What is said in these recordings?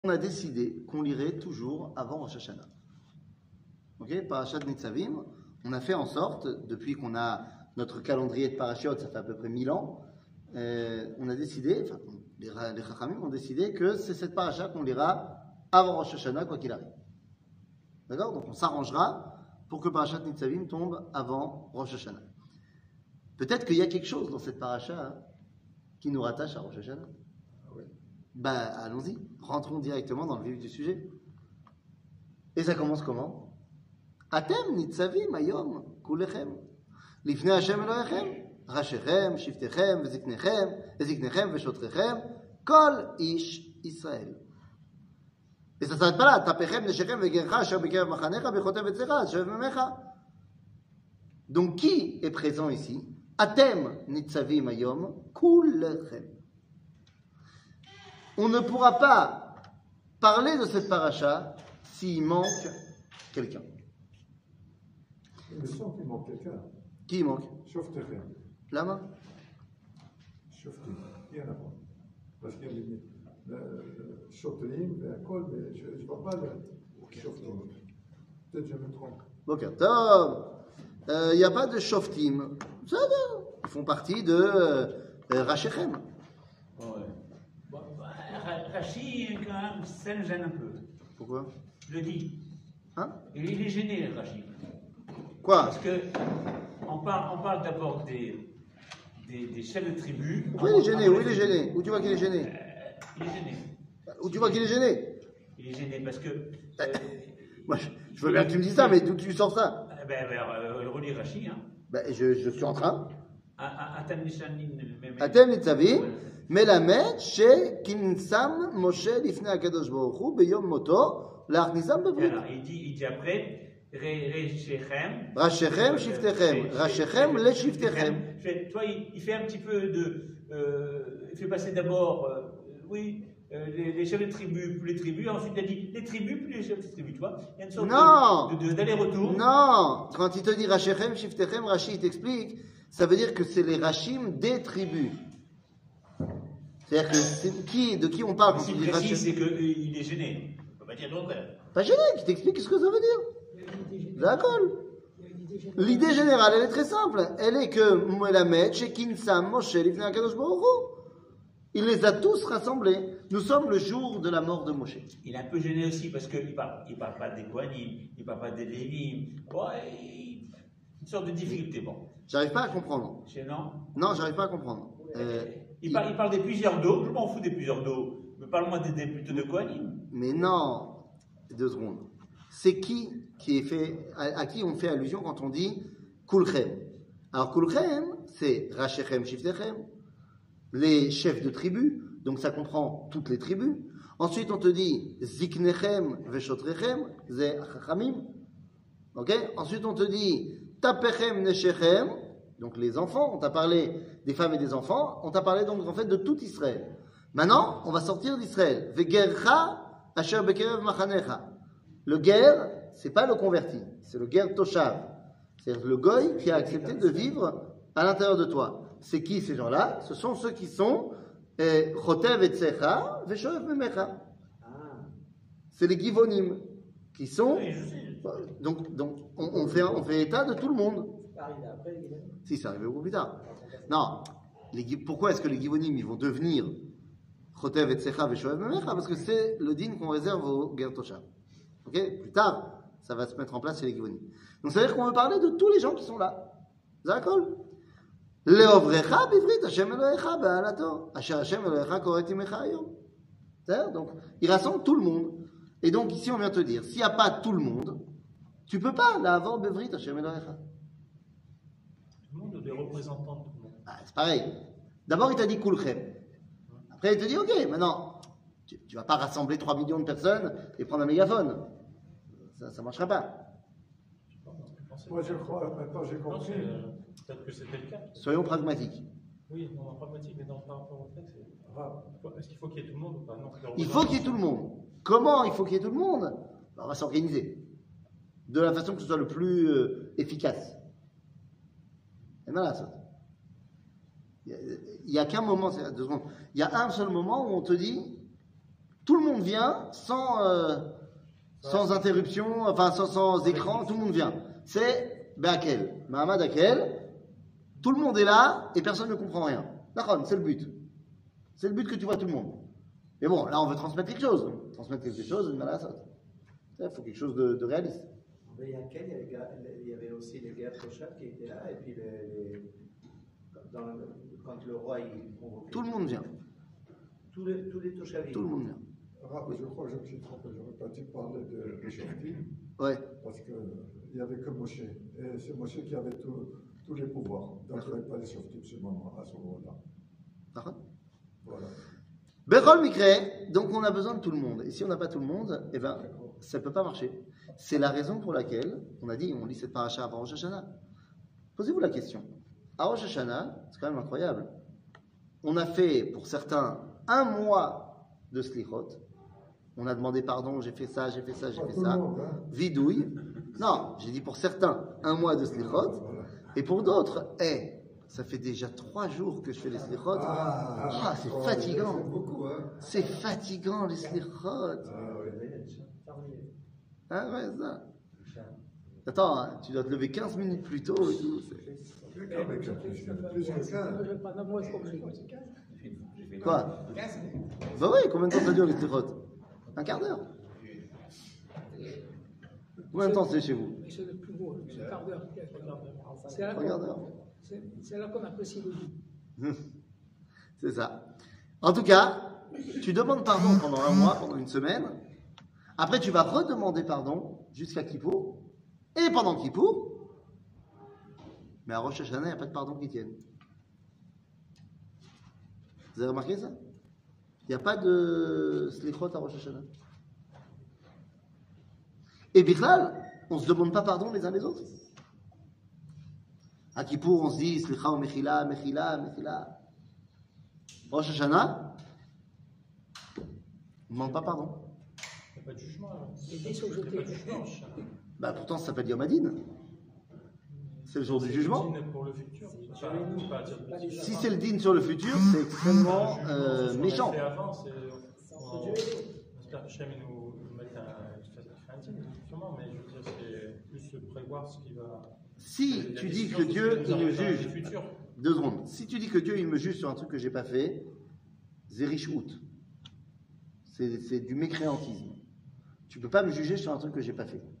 on a décidé qu'on lirait toujours avant Rosh Hashanah. Ok, Parashat Nitzavim, on a fait en sorte, depuis qu'on a notre calendrier de parachutes, ça fait à peu près 1000 ans, on a décidé, enfin, les Chachamim ont décidé que c'est cette paracha qu'on lira avant Rosh Hashanah, quoi qu'il arrive. D'accord? Donc on s'arrangera pour que Parashat Nitzavim tombe avant Rosh Hashanah. Peut-être qu'il y a quelque chose dans cette paracha qui nous rattache à Rosh Hashanah. Ben, allons-y, rentrons directement dans le vif du sujet. Et ça commence comment? Atem nitzavim hayom kulechem lifnei Hashem Elohechem rashechem shiftechem veziknechem veshotrechem kol ish Israël. Et ça s'arrête pas là. Tapechem neshechem vegercha asher bekerev machanecha bechotev etzecha asher memecha. Donc qui est présent ici? Atem nitzavim hayom kulechem. On ne pourra pas parler de cette paracha s'il manque quelqu'un. Mais sans qu'il manque quelqu'un. Qui manque? Shoftechem. La main. Shoftim. Rien à voir. Parce qu'il y a le Shoftim, et un col, mais je ne vois pas le Shoftim. Peut-être que je me trompe. Ok, il n'y a pas de Shoftim. Ça va. Ils font partie de Rashechem. Ouais. Bon, Rachid, quand même, ça me gêne un peu. Pourquoi? Je le dis. Hein? Il est gêné, Rachid. Quoi? Parce que on parle d'abord des chefs de tribu. Où il est gêné? Où il est gêné? Où tu vois qu'il est gêné? Il est gêné. Où tu vois qu'il est gêné? Il est gêné parce que. Moi, je veux bien que tu me dises ça, mais d'où tu sors ça? Relis Rachid, hein. Ben, je suis en train. Atem Atem nitzavim melamed shekinsam Moshe lifnei Hakadosh Baruch Hu beyom moto lachnisam bevrit. Il dit après. Rashechem. Rashechem, shiftechem. Rashechem, le shiftechem. Toi, il fait un petit peu de. Il fait passer d'abord, les chefs de tribus, puis les tribus, ensuite il a dit les tribus, puis les chefs de tribus, tu vois. Il y a une sorte d'aller-retour. Non, quand il te dit Rashechem, shiftechem, Rashi, il t'explique, ça veut dire que c'est les Rashim des tribus. C'est-à-dire que de qui on parle quand il dit précise, Rashim? c'est qu'il est gêné. On peut pas dire d'autre. Pas gêné, qui t'explique ce que ça veut dire. D'accord. L'idée générale, elle est très simple. Elle est que Melamed, Shekinsam, Moshe, Lifnei Hakadosh Baruch Hu, il les a tous rassemblés. Nous sommes le jour de la mort de Moshe. Il est un peu gêné aussi parce qu'il parle pas des Kohanim, il parle pas des Lévim. Une sorte de difficulté, bon. J'arrive pas à comprendre. Gênant. Non, j'arrive pas à comprendre. Il parle des plusieurs dos. Je m'en fous des plusieurs dos. Mais parle-moi plutôt de Kohanim. Mais non. 2 secondes. C'est qui est fait, à qui on fait allusion quand on dit Kulchem? Alors Kulchem, c'est Rashechem, Shiftechem, les chefs de tribus, donc ça comprend toutes les tribus. Ensuite on te dit Ziknechem, Veshotrechem, c'est Chachamim. Ok? Ensuite on te dit Tapechem, Neshechem, donc les enfants, on t'a parlé des femmes et des enfants, on t'a parlé donc en fait de tout Israël. Maintenant, on va sortir d'Israël. Vegercha, Asher Bekerev Machanecha. Le guerre, c'est pas le converti, c'est le guerre toshav. C'est-à-dire le goy qui a accepté de vivre à l'intérieur de toi. C'est qui ces gens-là? Ce sont ceux qui sont chotev etzecha veshoev memecha. C'est les givonim qui sont. Oui, je sais. Donc on fait état de tout le monde. Si, c'est arrivé beaucoup plus tard. Non. Pourquoi est-ce que les givonim ils vont devenir chotev etzecha veshoev memecha? Parce que c'est le din qu'on réserve aux guerres toshav. Ok, plus tard, ça va se mettre en place chez les Givonim. Donc, ça veut dire qu'on veut parler de tous les gens qui sont là. D'accord? Leovrecha bivrit Hashem Elohecha be'alato. Asher Hashem Elohecha koret imecha hayom. C'est-à-dire, donc, il rassemble tout le monde. Et donc, ici, on vient te dire, s'il n'y a pas tout le monde, tu ne peux pas l'avoir bivrit Hashem Elohecha. Tout le monde ou des représentants de tout le monde? C'est pareil. D'abord, il t'a dit Kulchem. Après, il te dit, ok, maintenant, tu ne vas pas rassembler 3 millions de personnes et prendre un mégaphone. Ça ne marchera pas. Moi, je crois, maintenant j'ai compris. Peut-être que c'était le cas. Soyons pragmatiques. Oui, non, pragmatique, mais par rapport au fait, est-ce qu'il faut qu'il y ait tout le monde ou pas? Non, Il faut qu'il y ait tout le monde. Comment il faut qu'il y ait tout le monde? On va s'organiser. De la façon que ce soit le plus efficace. Et voilà, ça. Il n'y a qu'un moment, 2 secondes. Il y a un seul moment où on te dit Tout le monde vient sans interruption, enfin sans écran, tout le monde vient. C'est Be'akel, Mahamad Akel. Tout le monde est là et personne ne comprend rien. D'accord, c'est le but. C'est le but que tu vois tout le monde. Mais bon, là on veut transmettre quelque chose. Transmettre quelque chose, une malasot. Il faut quelque chose de réaliste. Mais il y avait aussi les guerres Toshav qui étaient là, et puis quand le roi il convoquait. Tout le monde vient. Tous les Toshavim. Tout le monde vient. Je crois que je me suis trompé, j'aurais pas dû parler de Shoftim, Ouais. parce qu'il n'y avait que Moshe. Et c'est Moshe qui avait tous les pouvoirs. Donc il n'y avait pas les Shoftim à ce moment-là. D'accord. Voilà. Bechol Mikre, donc on a besoin de tout le monde. Et si on n'a pas tout le monde, eh ben, ça ne peut pas marcher. C'est la raison pour laquelle on a dit, on lit cette paracha avant Rosh Hashanah. Posez-vous la question. À Rosh Hashanah, c'est quand même incroyable. On a fait, pour certains, 1 mois de slichot. On a demandé pardon, j'ai fait ça, j'ai fait ça, j'ai fait ça. Vidouille. Non, j'ai dit pour certains, 1 mois de slichot. Et pour d'autres, ça fait déjà 3 jours que je fais les slichot. C'est fatigant. C'est beaucoup, hein. C'est fatigant les slichot. Ah ouais, ça. Attends, hein, tu dois te lever 15 minutes plus tôt et tout. Plus que 15. Quoi? Bah oui, combien de temps ça dure les slichot? 1 quart d'heure. Combien de temps c'est chez vous? C'est le plus beau, c'est un quart d'heure. C'est là qu'on apprécie le goût. C'est ça. En tout cas, tu demandes pardon pendant 1 mois, pendant 1 semaine. Après, tu vas redemander pardon jusqu'à Kippour. Et pendant Kippour, mais à Rosh Hashanah, il n'y a pas de pardon qui tienne. Vous avez remarqué ça? Il n'y a pas de slichot à Rosh Hashanah. Et Bichlal, on ne se demande pas pardon les uns les autres. À Kippour, on se dit Slicha ou Mechila, Mechila, Mechila. Rosh Hashanah, on ne demande pas pardon. Il n'y a pas de jugement. Les dés sont jetés. Il n'y a pas de jugement. Bah pourtant, ça s'appelle Yom Hadin. C'est le jour du jugement. Pour le futur. Si c'est le din sur le futur, c'est extrêmement méchant. Ce qu'on a fait avant, c'est. On espère que Hachem nous mette un din, sûrement, mais je veux dire, c'est plus prévoir ce qui va. Si tu dis que Dieu, il me juge. 2 secondes. Si tu dis que Dieu, il me juge sur un truc que j'ai pas fait, Zerichout. C'est du mécréantisme. Tu peux pas me juger sur un truc que j'ai pas fait.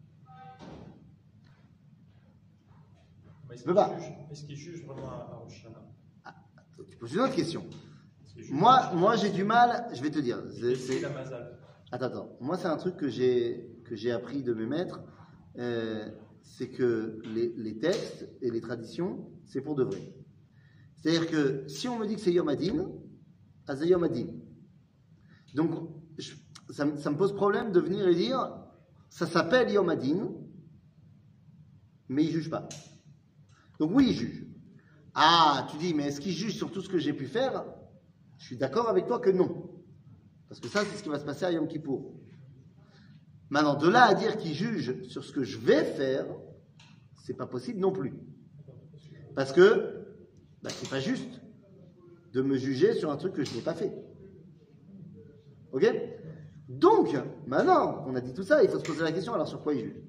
Est-ce qu'il juge vraiment à Rosh Hashanah? Tu poses une autre question. Moi, j'ai du mal, je vais te dire. C'est la mazal. Attends. Moi, c'est un truc que j'ai appris de mes maîtres. C'est que les textes et les traditions, c'est pour de vrai. C'est-à-dire que si on me dit que c'est Yom Hadin, c'est Yom Hadin. Donc, ça me pose problème de venir et dire, ça s'appelle Yom Hadin, mais il ne juge pas. Donc oui, il juge. Ah, tu dis, mais est-ce qu'il juge sur tout ce que j'ai pu faire? Je suis d'accord avec toi que non. Parce que ça, c'est ce qui va se passer à Yom Kippour. Maintenant, de là à dire qu'il juge sur ce que je vais faire, c'est pas possible non plus. Parce que, c'est pas juste de me juger sur un truc que je n'ai pas fait. Ok? Donc, maintenant qu'on a dit tout ça, il faut se poser la question, alors sur quoi il juge?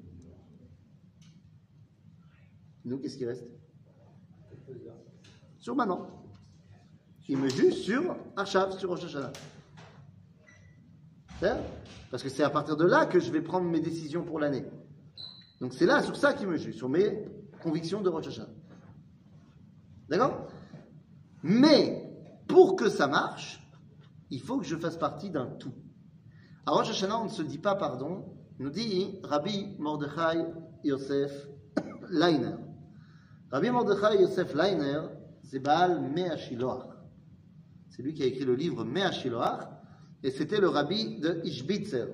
Nous, qu'est-ce qui reste? Sur maintenant. Il me juge sur Achav, sur Rosh Hashanah. C'est-à-dire? Parce que c'est à partir de là que je vais prendre mes décisions pour l'année. Donc c'est là, sur ça qu'il me juge, sur mes convictions de Rosh Hashanah. D'accord? Mais, pour que ça marche, il faut que je fasse partie d'un tout. À Rosh Hashanah, on ne se dit pas pardon, nous dit Rabbi Mordechai Yosef Leiner. Rabbi Mordechai Yosef Leiner, c'est Baal Mea Shiloach. C'est lui qui a écrit le livre Mea Shiloach, et c'était le rabbi de Ishbitzer.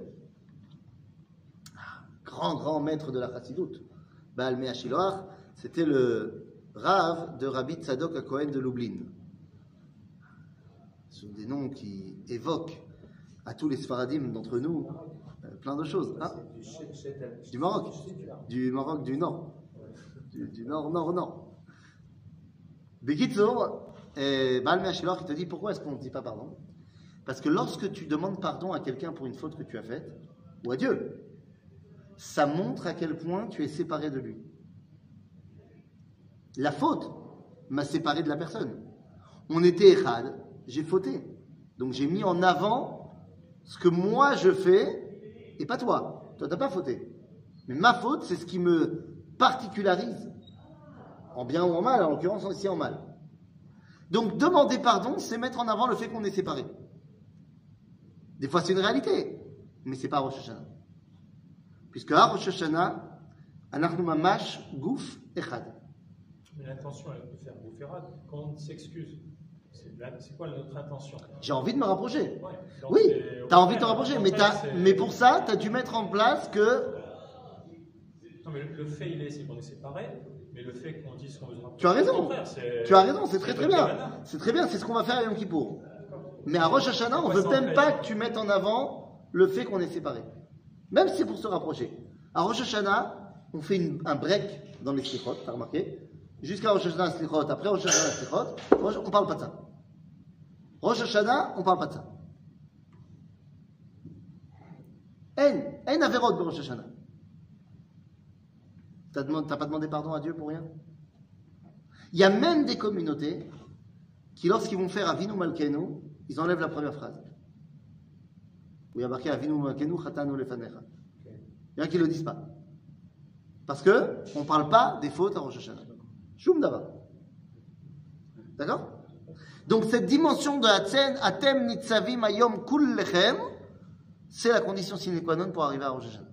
Grand maître de la Chassidoute. Baal Mea Shiloach, c'était le Rav de Rabbi Tzadok HaKohen de Lublin. Ce sont des noms qui évoquent à tous les Sfaradim d'entre nous plein de choses. Hein? Du Maroc. Du Maroc du Nord. Du Nord. Bekitsour, Baal Mea Shiloach, il te dit pourquoi est-ce qu'on ne dit pas pardon? Parce que lorsque tu demandes pardon à quelqu'un pour une faute que tu as faite, ou à Dieu, ça montre à quel point tu es séparé de lui. La faute m'a séparé de la personne. On était echad, j'ai fauté. Donc j'ai mis en avant ce que moi je fais et pas toi. Toi, t'as pas fauté. Mais ma faute, c'est ce qui me particularise. En bien ou en mal, en l'occurrence ici en mal. Donc demander pardon, c'est mettre en avant le fait qu'on est séparés. Des fois c'est une réalité, mais c'est pas Rosh Hashanah. Puisque à Rosh Hashanah, anachnu mamash guf echad. Mais l'intention, elle peut faire boufferade. Quand on s'excuse, c'est quoi notre intention? J'ai envie de me rapprocher. Ouais. Oui, tu as envie de te rapprocher, mais pour ça, tu as dû mettre en place que... Non, mais le fait, c'est qu'on est séparés, mais le fait qu'on dise qu'on veut se rapprocher... Tu as raison, tu as raison, c'est très très bien. C'est très bien, c'est ce qu'on va faire à Yom Kippour. Mais à Rosh Hashanah, on ne veut même pas que tu mettes en avant le fait qu'on est séparés. Même si c'est pour se rapprocher. À Rosh Hashanah, on fait un break dans les slichot, tu as remarqué? Jusqu'à Rosh Hashanah slichot, après Rosh Hashanah slichot, on ne parle pas de ça. Rosh Hashanah, on ne parle pas de ça. En averot de Rosh Hashanah. T'as pas demandé pardon à Dieu pour rien? Il y a même des communautés qui, lorsqu'ils vont faire Avinu Malkenu, ils enlèvent la première phrase. Où il y a marqué Avinu Malkenu Chatanu Lefanecha. Il y en a qui ne le disent pas. Parce qu'on ne parle pas des fautes à Rosh Hashanah. Shum Davar. D'accord? Donc cette dimension de Atem Nitzavim Ayom Kul Lechem, c'est la condition sine qua non pour arriver à Rosh Hashanah.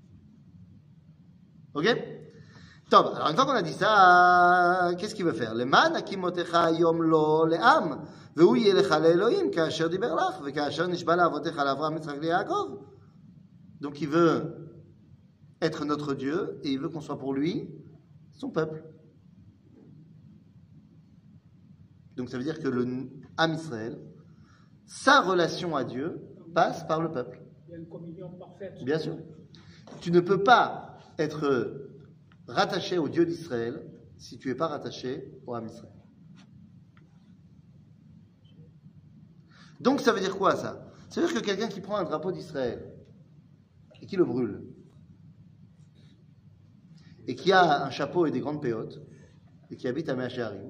Ok? Top. Alors une fois qu'on a dit ça, qu'est-ce qu'il veut faire? Leman akimotecha Ayom Lo Le'am, Ve'u Yelecha Le'Elohim, Ka'asher Diber Lach, Ve'Ka'asher Nishba La'avotecha L'Avram Yitzchak Le'Yaakov. Donc il veut être notre Dieu et il veut qu'on soit pour lui son peuple. Donc ça veut dire que le Am Israël, sa relation à Dieu passe par le peuple. Il y a une communion parfaite. Bien sûr. Tu ne peux pas être rattaché au Dieu d'Israël si tu n'es pas rattaché au Am Israël. Donc ça veut dire quoi ça? Ça veut dire que quelqu'un qui prend un drapeau d'Israël et qui le brûle, et qui a un chapeau et des grandes péotes, et qui habite à Mea Shearim,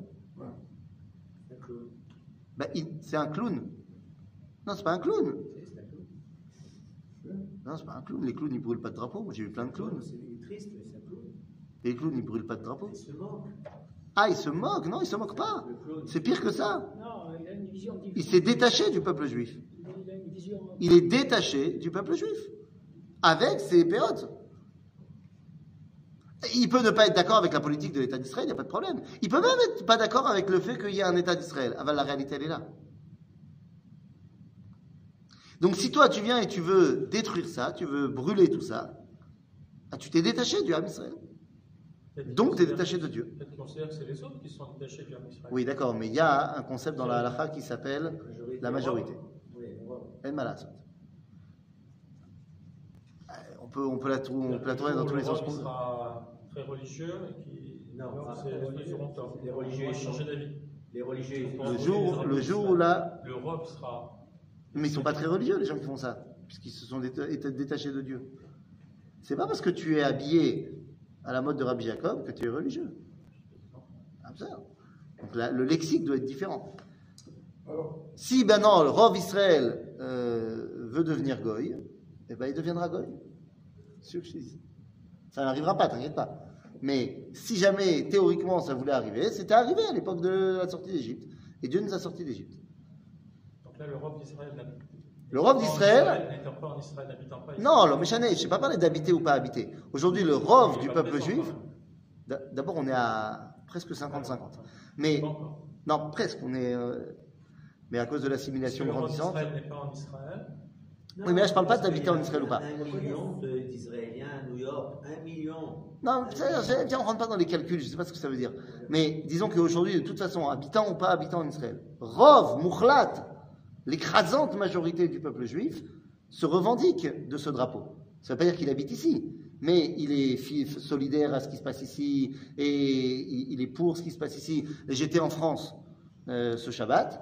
ben, c'est un clown. Non, c'est pas un clown. Non, c'est pas un clown. Les clowns, ils brûlent pas de drapeau. Moi, j'ai vu plein de clowns. C'est triste, mais c'est un clown. Et les clowns, ils brûlent pas de drapeau. Il se moque. Ah, ils se moquent. Non, ils se moquent pas. C'est pire que ça. Non, il a une vision différente. Il s'est détaché du peuple juif. Il a une vision... Il est détaché du peuple juif. Avec ses péotes. Il peut ne pas être d'accord avec la politique de l'État d'Israël, il n'y a pas de problème. Il peut même être pas d'accord avec le fait qu'il y ait un État d'Israël. Ah ben, la réalité, elle est là. Donc si toi, tu viens et tu veux détruire ça, tu veux brûler tout ça, ah, tu t'es détaché du Ham Israël. Donc tu es détaché de Dieu. Peut-être qu'on considère que c'est les autres qui sont détachés du Ham Israël. Oui, d'accord, mais il y a un concept dans la halakha qui s'appelle la majorité. El malasot. On peut la tourner dans tous les sens. L'Europe sera très religieux et qui... Non, ils auront tort. les religieux, Ils vont changer d'avis. Les religieux, Le jour où là... L'Europe sera... Mais ils ne sont pas très religieux, les gens qui font ça, puisqu'ils se sont détachés de Dieu. C'est pas parce que tu es habillé à la mode de Rabbi Jacob que tu es religieux. Absurde. Donc le lexique doit être différent. Alors, Si maintenant le Rov Israël veut devenir Goy, eh ben il deviendra Goy. C'est sûr que je te dis. Ça n'arrivera pas, t'inquiète pas. Mais si jamais théoriquement ça voulait arriver, c'était arrivé à l'époque de la sortie d'Égypte. Et Dieu nous a sortis d'Égypte. Donc là, l'Europe d'Israël... L'Europe d'Israël... n'étant pas en Israël, n'habitant pas Non, le Méchané, je ne sais pas parler d'habiter ou pas habiter. Aujourd'hui, le Rov du peuple juif, d'abord on est à presque 50-50. Mais, non, presque, on est... mais à cause de l'assimilation grandissante... L'Europe d'Israël n'est pas en Israël. Oui, mais là je ne parle pas d'habiter en Israël ou pas. 1 million d'Israéliens à New York, 1 million. Non, tiens, on ne rentre pas dans les calculs, je ne sais pas ce que ça veut dire. Mais disons qu'aujourd'hui, de toute façon, habitant ou pas habitant en Israël, Rov, Mouchlat, l'écrasante majorité du peuple juif se revendique de ce drapeau. Ça ne veut pas dire qu'il habite ici, mais il est solidaire à ce qui se passe ici et il est pour ce qui se passe ici. J'étais en France ce Shabbat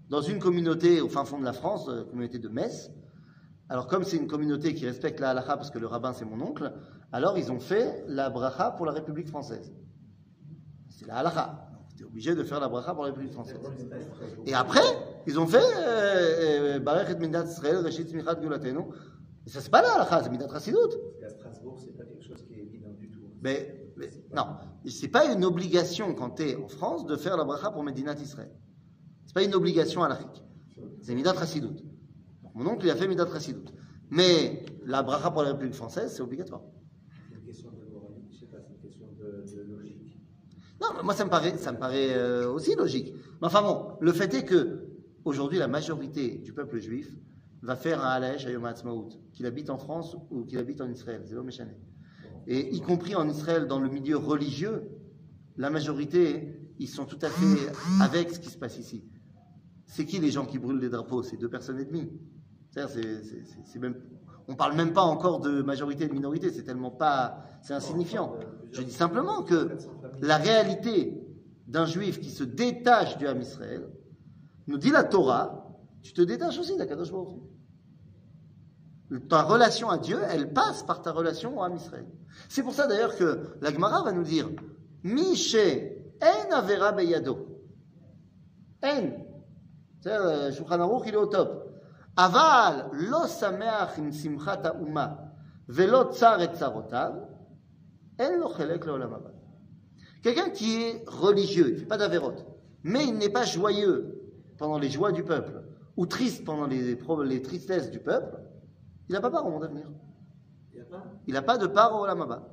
dans une communauté au fin fond de la France, la communauté de Metz. Alors comme c'est une communauté qui respecte la halakha parce que le rabbin c'est mon oncle, alors ils ont fait la bracha pour la République française. C'est la halakha. Tu es obligé de faire la bracha pour la République française. Et après, ils ont fait Barech et Midat Israël, Reshit Smichat Gulatenu. Et ça c'est pas la halakha, c'est Midat Chassidut. À Strasbourg, c'est pas quelque chose qui est évident du tout. Mais non, c'est pas une obligation quand tu es en France de faire la bracha pour Medinat Israël. C'est pas une obligation halachique. C'est Midat Chassidut. Mon oncle, il a fait Midat Chassidut. Mais la bracha pour la République française, c'est obligatoire. C'est une question de moralité, je sais pas, c'est une question de logique. Non, mais moi, ça me paraît aussi logique. Mais enfin bon, le fait est que, aujourd'hui, la majorité du peuple juif va faire un Halesh à Yom HaAtzmaut, qu'il habite en France ou qu'il habite en Israël. C'est l'homme échané. Et y compris en Israël, dans le milieu religieux, la majorité, ils sont tout à fait avec ce qui se passe ici. C'est qui les gens qui brûlent les drapeaux? C'est 2,5 personnes. C'est même, on parle même pas encore de majorité et de minorité, c'est tellement pas, c'est insignifiant. Je dis simplement que la réalité d'un juif qui se détache du Ham Israël, nous dit la Torah, tu te détaches aussi d'Akadosh Baruch Hu. Ta relation à Dieu, elle passe par ta relation au Ham Israël. C'est pour ça d'ailleurs que la Gemara va nous dire Mishe en avera beyado. En. C'est Shulchan Aruch, il est au top. Aval lo sameach im simchat ha'uma velo tsar et tsarotav en lo chelek leolam haba. Quelqu'un qui est religieux, il ne fait pas d'avérote, mais il n'est pas joyeux pendant les joies du peuple ou triste pendant les tristesses du peuple, il n'a pas part au monde à venir. Il n'a pas de part au olam haba.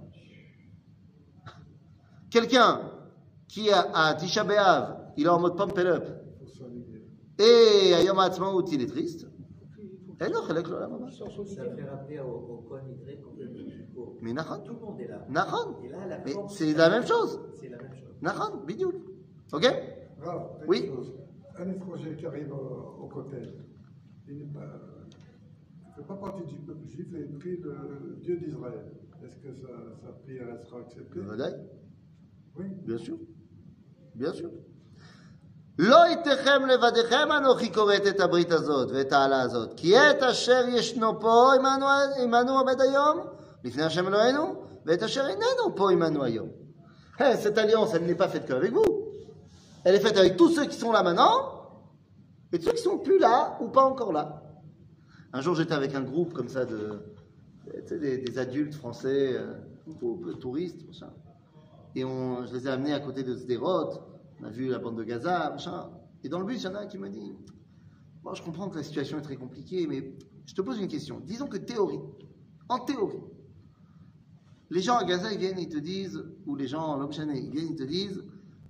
Quelqu'un qui a Tisha B'Av, il est en mode pump it up, et à Yom HaAtzmaut, il est triste. Et non, Ça fait rappeler au Kohen Idré qu'on est pauvre. Mais Nachan. Tout le monde est là. Nachan. Et là, la Mais force, c'est la même chose. c'est la même chose. Nachan, bidiouk. Ok? Rav, Oui. quelque chose. Un étranger qui arrive au Kotel, il ne fait pas partie du peuple juif et il prie le Dieu d'Israël. Est-ce que sa prière sera acceptée? Vadaï. Oui. Bien sûr. Bien sûr. לא יתכם לבדיכם אנוכי כורת את הברית הזאת ואת העלה הזאת כי את אשר ישנו פה עמנו עומד היום לפני השם אלוהינו ואת אשר איננו פה עמנו היום. Cette alliance, elle n'est pas faite qu'avec vous. Elle est faite avec tous ceux qui sont là maintenant et ceux qui sont plus là ou pas encore là. Un jour, j'étais avec un groupe comme ça des adultes français, touristes, machin. Et je les ai amenés à côté de Sderot. On a vu la bande de Gaza, machin. Et dans le bus, il y en a un qui m'a dit bon, je comprends que la situation est très compliquée, mais je te pose une question. Disons que en théorie, les gens à Gaza, ils viennent, ils te disent, ou les gens en L'Homme Chané, ils viennent, ils te disent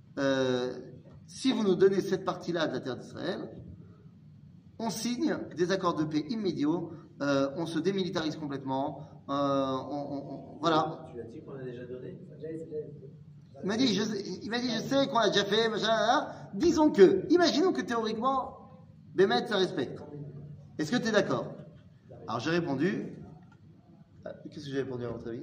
si vous nous donnez cette partie-là de la terre d'Israël, on signe des accords de paix immédiats, on se démilitarise complètement, voilà. Tu l'as dit qu'on a déjà donné? Il m'a dit, je sais qu'on a déjà fait, machin, imaginons que théoriquement, Bémet, ça respecte. Est-ce que tu es d'accord? Alors j'ai répondu, qu'est-ce que j'ai répondu à votre avis?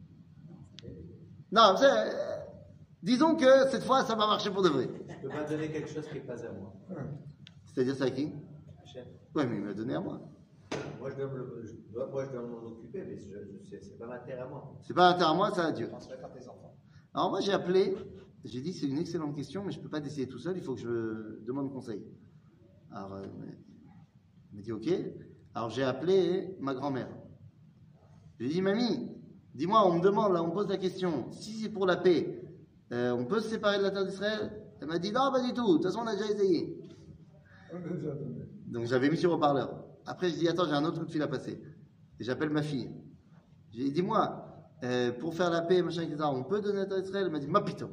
Non, disons que cette fois, ça va marcher pour de vrai. Je ne peux pas donner quelque chose qui n'est pas à moi. C'est-à-dire ça à qui? Chef. Oui, mais il m'a donné à moi. Moi, je dois m'en occuper, mais c'est pas ma terre à moi. C'est pas la terre à moi, c'est à Dieu. Alors moi j'ai appelé, j'ai dit c'est une excellente question, mais je ne peux pas décider tout seul, il faut que je demande conseil. Alors il m'a dit ok. Alors j'ai appelé ma grand-mère. J'ai dit mamie, dis-moi, on me demande là, on me pose la question, si c'est pour la paix, on peut se séparer de la terre d'Israël? Elle m'a dit non, pas du tout, de toute façon on a déjà essayé. On a déjà donné. Donc j'avais mis sur haut-parleur. Après je dis attends, j'ai un autre coup de fil à passer. Et j'appelle ma fille. J'ai dit dis-moi, pour faire la paix, machin, etc., on peut donner la terre d'Israël? Elle m'a dit ma pito.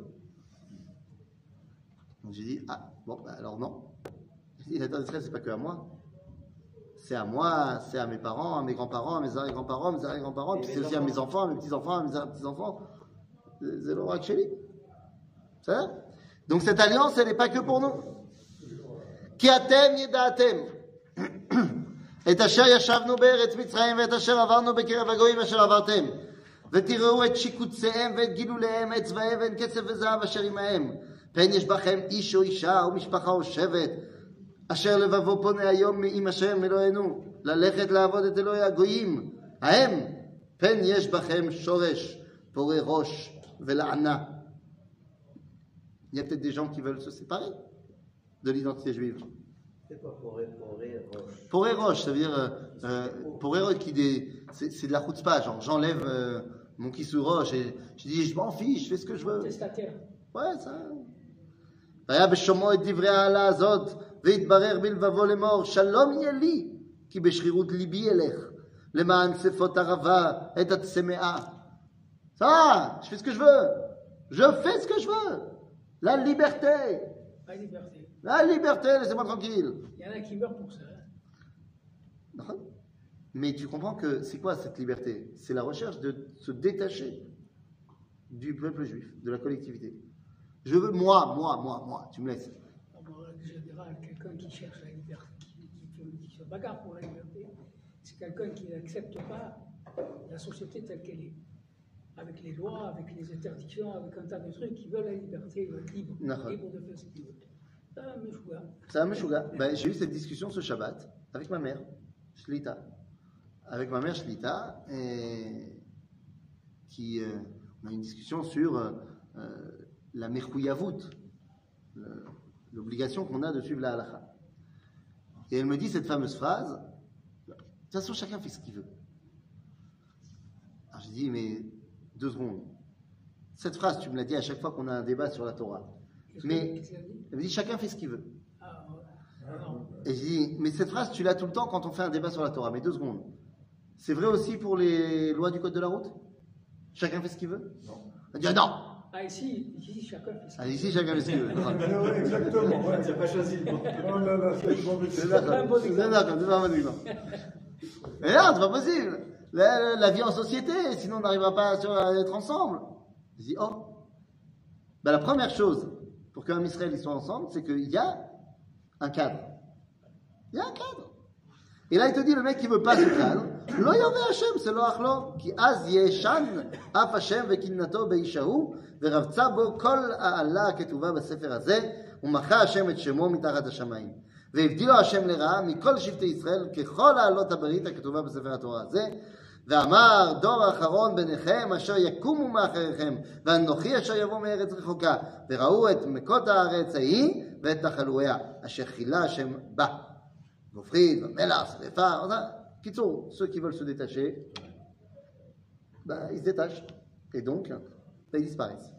Donc j'ai dit ah bon, bah, alors non. J'ai dit la terre d'Israël c'est pas que à moi. C'est à moi, c'est à mes parents, à mes grands-parents, à mes arrière-grands-parents, à mes arrière-grands-parents, puis c'est aussi à mes enfants, à mes petits-enfants, à mes petits-enfants. C'est le roi Ksheli. Ça? Donc cette alliance, elle n'est pas que pour nous. Ki atem yeda'atem. Et asher yashavnu be'eretz Mitzrayim ואת אשר עברנו בקרב הגויים אשר עברתם. ותראו את שיקוציהם ואת גילוליהם, את צבאיהם ואת כסף וזהב אשר עמהם. פן יש בכם איש או אישה או משפחה או שבט. אשר לבבו פונה היום עם השם אלוהינו, ללכת לעבוד את אלוהי הגויים, ההם, פן יש בכם שורש, פורה ראש ולענה. Il y a peut-être des gens qui veulent se séparer de l'identité juive. C'est quoi Poré Roche? Poré roche, ça veut dire poré roche c'est de la chutzpah, genre j'enlève mon kissou roche et je dis je m'en fiche, je fais ce que je veux. Testataire. Ouais, ça. והיה בשומעו את דברי העלה הזאת, והתברר בלבבו לאמור, שלום יהיה לי, כי בשרירות ליבי אלך, למען שפות ערבה את הצמאה. Ça, je fais ce que je veux. Je fais ce que je veux. La liberté. Pas liberté. La liberté, laissez-moi tranquille. Il y en a qui meurent pour ça. Hein. Mais tu comprends que c'est quoi cette liberté? C'est la recherche de se détacher du peuple juif, de la collectivité. Je veux moi, tu me laisses. En général, quelqu'un qui cherche la liberté, qui se bagarre pour la liberté, c'est quelqu'un qui n'accepte pas la société telle qu'elle est. Avec les lois, avec les interdictions, avec un tas de trucs qui veulent la liberté, ils veulent être libres, libres de faire ce qu'ils veulent. C'est un meshuga. Ben, j'ai eu cette discussion ce Shabbat avec ma mère, Shlita. Avec ma mère Shlita, on a une discussion sur la mechuyavut, l'obligation qu'on a de suivre la halakha. Et elle me dit cette fameuse phrase, de toute façon chacun fait ce qu'il veut. Alors j'ai dit, mais 2 secondes. Cette phrase, tu me l'as dit à chaque fois qu'on a un débat sur la Torah. Mais elle me dit, chacun fait ce qu'il veut. Et j'ai dit, mais cette phrase, tu l'as tout le temps quand on fait un débat sur la Torah. Mais 2 secondes. C'est vrai aussi pour les lois du code de la route? Chacun fait ce qu'il veut? Non. Elle dit, non. Ah, ici, chacun fait ce qu'il veut. Ici, chacun fait ce qu'il veut. Exactement. Ouais. Tu n'as pas choisi le bon. Oh là là, c'est le bon C'est d'accord, c'est pas un bon exemple. Mais non, c'est pas possible. La vie en société, sinon on n'arrivera pas à être ensemble. Je dis, oh. Ben, la première chose pour qu'un Israël soit ensemble, c'est qu'il y a un cadre. Il y a un cadre. Et là, il te dit, le mec qui veut pas ce cadre, lo yoveh Hashem, c'est lo achlo, ki az yeshan af Hashem vekinnato beishahu, ורבצה בו כל העלה הכתובה בספר הזה, ומחה השם את שמו מתחת השמיים. והבדילו השם לרעה מכל שבטי ישראל ככל העלות הברית הכתובה בספר התורה הזה, ואמר דור האחרון ביניכם אשר יקומו מאחריכם, ואנוכי אשר יבוא מארץ רחוקה, וראו את מכות הארץ ההיא ואת נחלואיה, אשר חילה השם בה. גופרית ומלח, שרפה, קיצור, ceux qui veulent se détacher, ils se détachent. Et donc, ils disparaissent.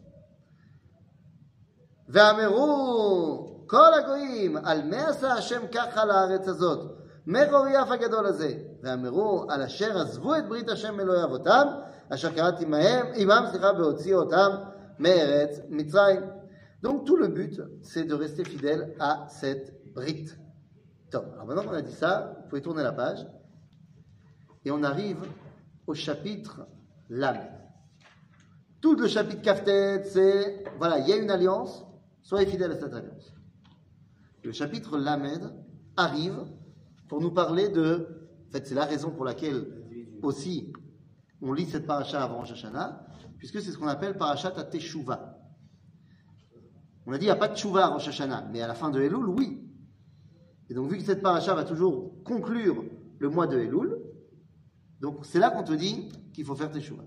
ואמרו כל הגויים על מה עשה השם ככה לארץ הזאת מרוב יף הגדול הזה ואמרו על אשר עזבו את ברית השם אלוהי אבותם אשר קראתי עמם בהוציאו אותם מארץ מצרים. Donc tout le but c'est de rester fidèle à cette brite. Alors maintenant qu'on a dit ça, vous pouvez tourner la page et on arrive au chapitre Lamed. Tout le chapitre Kaftet, c'est, voilà, il y a une alliance, soyez fidèles à cette alliance. Le chapitre Lamed arrive pour nous parler de, en fait, c'est la raison pour laquelle aussi on lit cette paracha avant Rosh Hashanah, puisque c'est ce qu'on appelle parachat à Teshuvah. On a dit, il n'y a pas de Teshuvah à Rosh Hashanah, mais à la fin de Elul, oui. Et donc, vu que cette paracha va toujours conclure le mois de Elul, donc c'est là qu'on te dit qu'il faut faire Teshuvah.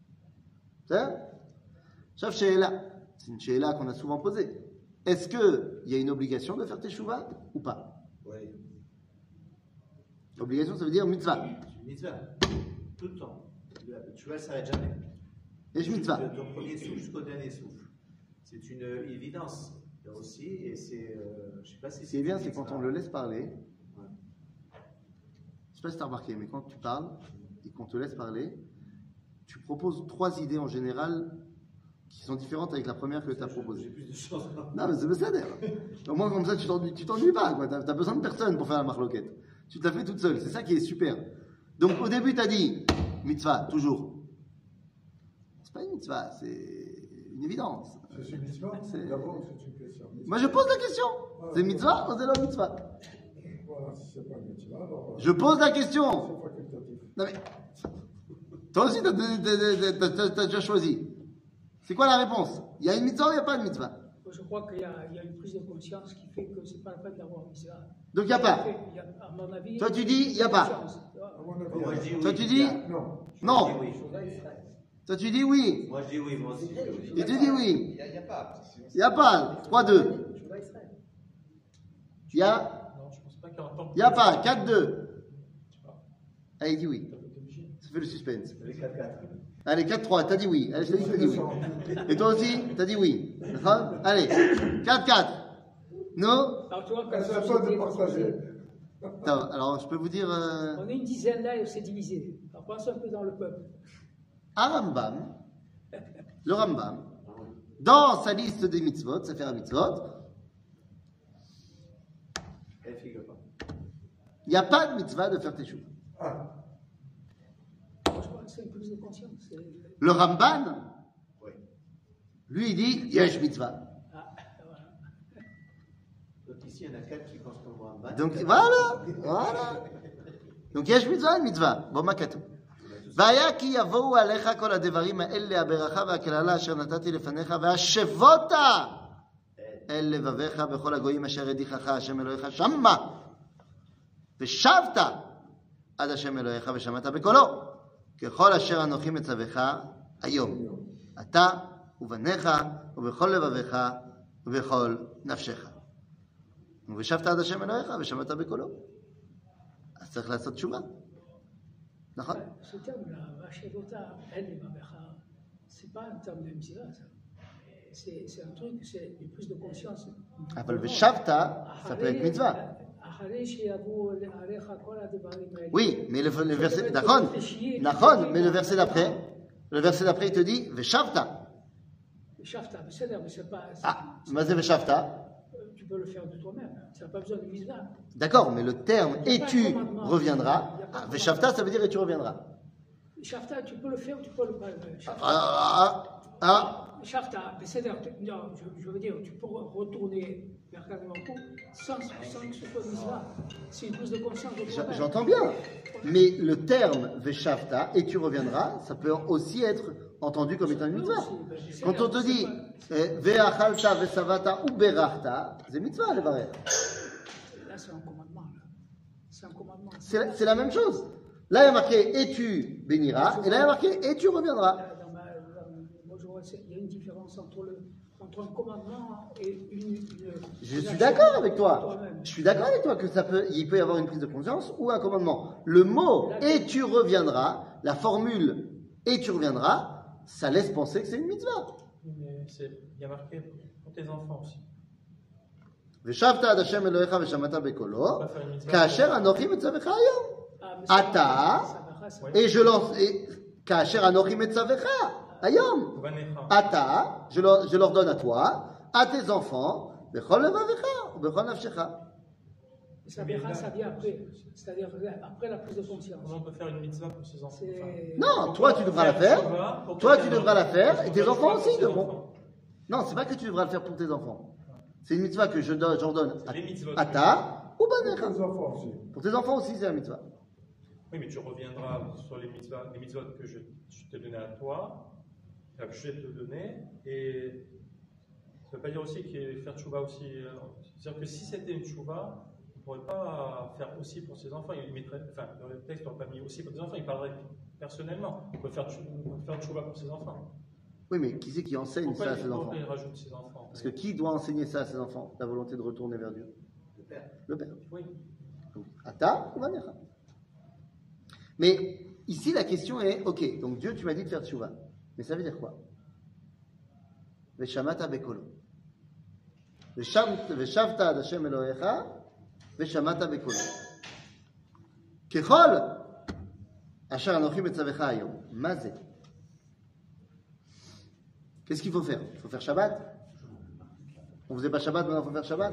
C'est une she'ela qu'on a souvent posée. Est-ce qu'il y a une obligation de faire teshuva ou pas? Oui. Obligation, ça veut dire mitzvah. Mitzvah, tout le temps. Le teshuva ne s'arrête jamais. Et mitzvah. De ton premier souffle jusqu'au dernier souffle. C'est une évidence là aussi, et c'est, je sais pas si ce qui est bien, c'est quand on le laisse parler. Ouais. Je sais pas si tu as remarqué, mais quand tu parles et qu'on te laisse parler, tu proposes 3 idées en général qui sont différentes avec la première que tu as proposée. J'ai plus de chance. Non, mais c'est ça d'ailleurs. Au moins, comme ça, tu t'ennuies pas. Tu as besoin de personne pour faire la marloquette. Tu te la fais toute seule. C'est ça qui est super. Donc, au début, tu as dit mitzvah, toujours. C'est pas une mitzvah, c'est une évidence. C'est une mitzvah. D'abord, c'est une question. Moi, je pose la question. C'est mitzvah ou c'est la mitzvah? Voilà, si c'est pas une mitzvah, alors. Je pose la question. C'est facultatif. Non, mais. Toi aussi, t'as déjà choisi. C'est quoi la réponse? Il y a une mitzvah ou il n'y a pas de mitzvah? Je crois qu'il y a une prise de conscience qui fait que c'est pas la peine d'avoir mis ça. Donc il n'y a pas. À mon avis. Toi tu dis, il n'y a pas. À mon avis, Moi, je dis oui. Toi tu dis, non. non. Je dis oui. Toi tu dis oui. Moi, je dis oui, moi aussi. Et tu dis oui. Il n'y a pas. Il n'y a pas. 3-2. Il y a, Non, je pense pas qu'il y aura tant. il y a pas. 4-2. Allez, dis oui. Ça fait le suspense. Allez, 4-3. T'as dit oui. Allez, je t'ai dit que t'as dit oui. Et toi aussi, t'as dit oui. D'accord. Allez, 4-4. Non. Alors, tu vois, quand C'est à toi de partager. Attends, alors, je peux vous dire. on est une dizaine là et on s'est divisé. Alors, pense un peu dans le peuple. Rambam, le Rambam, dans sa liste des mitzvot, ça fait un mitzvot, Elle figure pas. il n'y a pas de mitzvah de faire teshuva. Ah, Franchement, c'est une prise de conscience. Le Ramban, Oui. lui, il dit yesh mitzvah. Ah, voilà. Donc ici, il y en a 4 qui pensent comme Ramban. Donc voilà. Donc yesh mitzvah, mitzvah. Bon, makatu. והיה כי יבואו עליך כל הדברים האלה, הברכה והקללה אשר נתתי לפניך, והשבות אל לבביך בכל הגויים אשר הדיחך השם אלוהיך שמה, ושבת עד השם אלוהיך ושמעת בקולו, ככל אשר אנוכי מצווך היום, אתה ובניך ובכל לבביך ובכל נפשך. ושבת עד השם אלוהיך ושמעת בקולו. אז צריך לעשות תשובה. נכון? Ce terme-là, Vashevota, elle et Babecha, c'est pas un terme de mitzvah, ça. C'est un truc, c'est une prise de conscience. אבל ושבת, ça peut être mitzvah. אחרי שיבואו עליך כל הדברים האלה. Oui, mais le verset, d'accord, mais le verset d'après, il te dit ושבת. Shavta, בסדר, mais c'est pas. Ah, מה זה ושבת? Tu peux le faire de toi-même, tu n'as pas besoin de mitzvah. D'accord, mais le terme et tu reviendras. Veshavta, ça veut dire et tu reviendras. Shavta, tu peux le faire ou tu peux le pas. Shavta, c'est-à-dire, non, je veux dire, tu peux retourner vers Kadimako sans que ce soit mitzvah. C'est une prise de conscience de toi-même. J'entends bien, mais le terme Veshavta et tu reviendras, ça peut aussi être entendu comme étant une mitzvah. Quand on te dit Ve'achalta ve'savata ou berachta, c'est mitzvah le barer. Là, c'est un commandement. C'est un commandement. C'est la même chose. Là, il y a marqué et tu béniras, et là, il y a marqué et tu reviendras. Moi, je vois, il y a une différence entre un commandement et une Je suis d'accord avec toi. Je suis d'accord avec toi que il peut y avoir une prise de conscience ou un commandement. Le mot et tu reviendras, la formule et tu reviendras, ça laisse penser que c'est une mitzvah. Mais il y a marqué pour tes enfants aussi. ושבת עד השם אלוהיך ושמעת בקולו, כאשר אנוכי מצווך היום. אתה, et je lance, כאשר אנוכי מצווך היום. אתה, je l'ordonne à toi, à tes enfants, בכל לבביך ובכל נפשך. Ça vient après, c'est-à-dire après la prise de conscience. Comment on peut faire une mitzvah pour ses enfants? Non, toi tu devras la faire. Toi tu devras la faire et tes enfants aussi devront. Non, c'est pas que tu devras le faire pour tes enfants. C'est une mitzvah que j'ordonne à ta ou banecha. Pour tes enfants aussi, c'est la mitzvah. Oui, mais tu reviendras sur les mitzvahs que je t'ai donné à toi, que je vais te donner, et ça ne veut pas dire aussi que faire tchouva aussi. C'est-à-dire que si c'était une tchouva, on ne pourrait pas faire aussi pour ses enfants. Il mettrait, enfin, dans le texte, on n'aurait pas mis aussi pour ses enfants, il parlerait personnellement. On peut faire tchouva pour ses enfants. Oui, mais qui c'est qui enseigne ça à ses enfants? Il rajoute ses enfants. Parce que qui doit enseigner ça à ses enfants? La volonté de retourner vers Dieu? Le père. Le père. Oui. Donc, Ata ou Vanecha. Mais ici, la question est, ok, donc Dieu, tu m'as dit de faire tchouva. Mais ça veut dire quoi? Veshamata bekolo. Veshavta ad Hashem Elohecha, veshamata bekolo. Kechol, asher anochi metzavecha hayom. Mazé. Qu'est-ce qu'il faut faire? Il faut faire Shabbat? On ne faisait pas Shabbat, maintenant il faut faire Shabbat?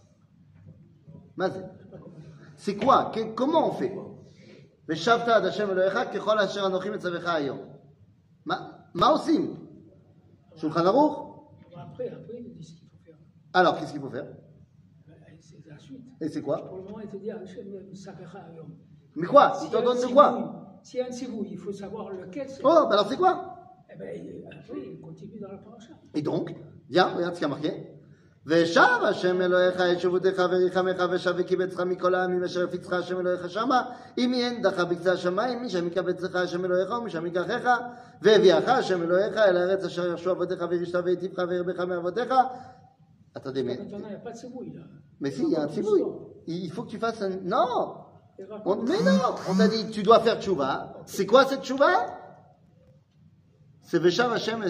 Mazé. C'est quoi? Comment on fait? Veshavta ad Hashem Elohecha, kechol asher anochi metzavecha hayom. Ma osim? Shulchan Aruch? Après, il dit ce qu'il faut faire. Alors, qu'est-ce qu'il faut faire? C'est la suite. Et c'est quoi? Pour le moment, il te dit Savecha Hayom. Mais quoi? Il t'en donne de quoi? S'il y a un sivou, il faut savoir lequel c'est. Oh, bah alors c'est quoi? Eh bien, après, il continue dans la paracha. Et donc, viens, regarde ce qu'il y a marqué. ושב השם אלוהיך את שבותך וריחמך ושב וקיבצך מכל העמים אשר הפיצך השם אלוהיך שמה אם אין דחה בקצה השמיים משם יקבצך השם אלוהיך ומשם ייקחך והביאך השם אלוהיך אל הארץ אשר ירשו אבותיך וירשת והיטיבך והרבך מאבותיך. Attendez, mais... Maintenant, il n'y a pas de tsiboui, là. Mais si, il y a un tsiboui. Il faut que tu fasses un... Non mais non, on t'a dit, tu dois faire tchouva. C'est quoi cette tchouva? C'est Vesham Hashem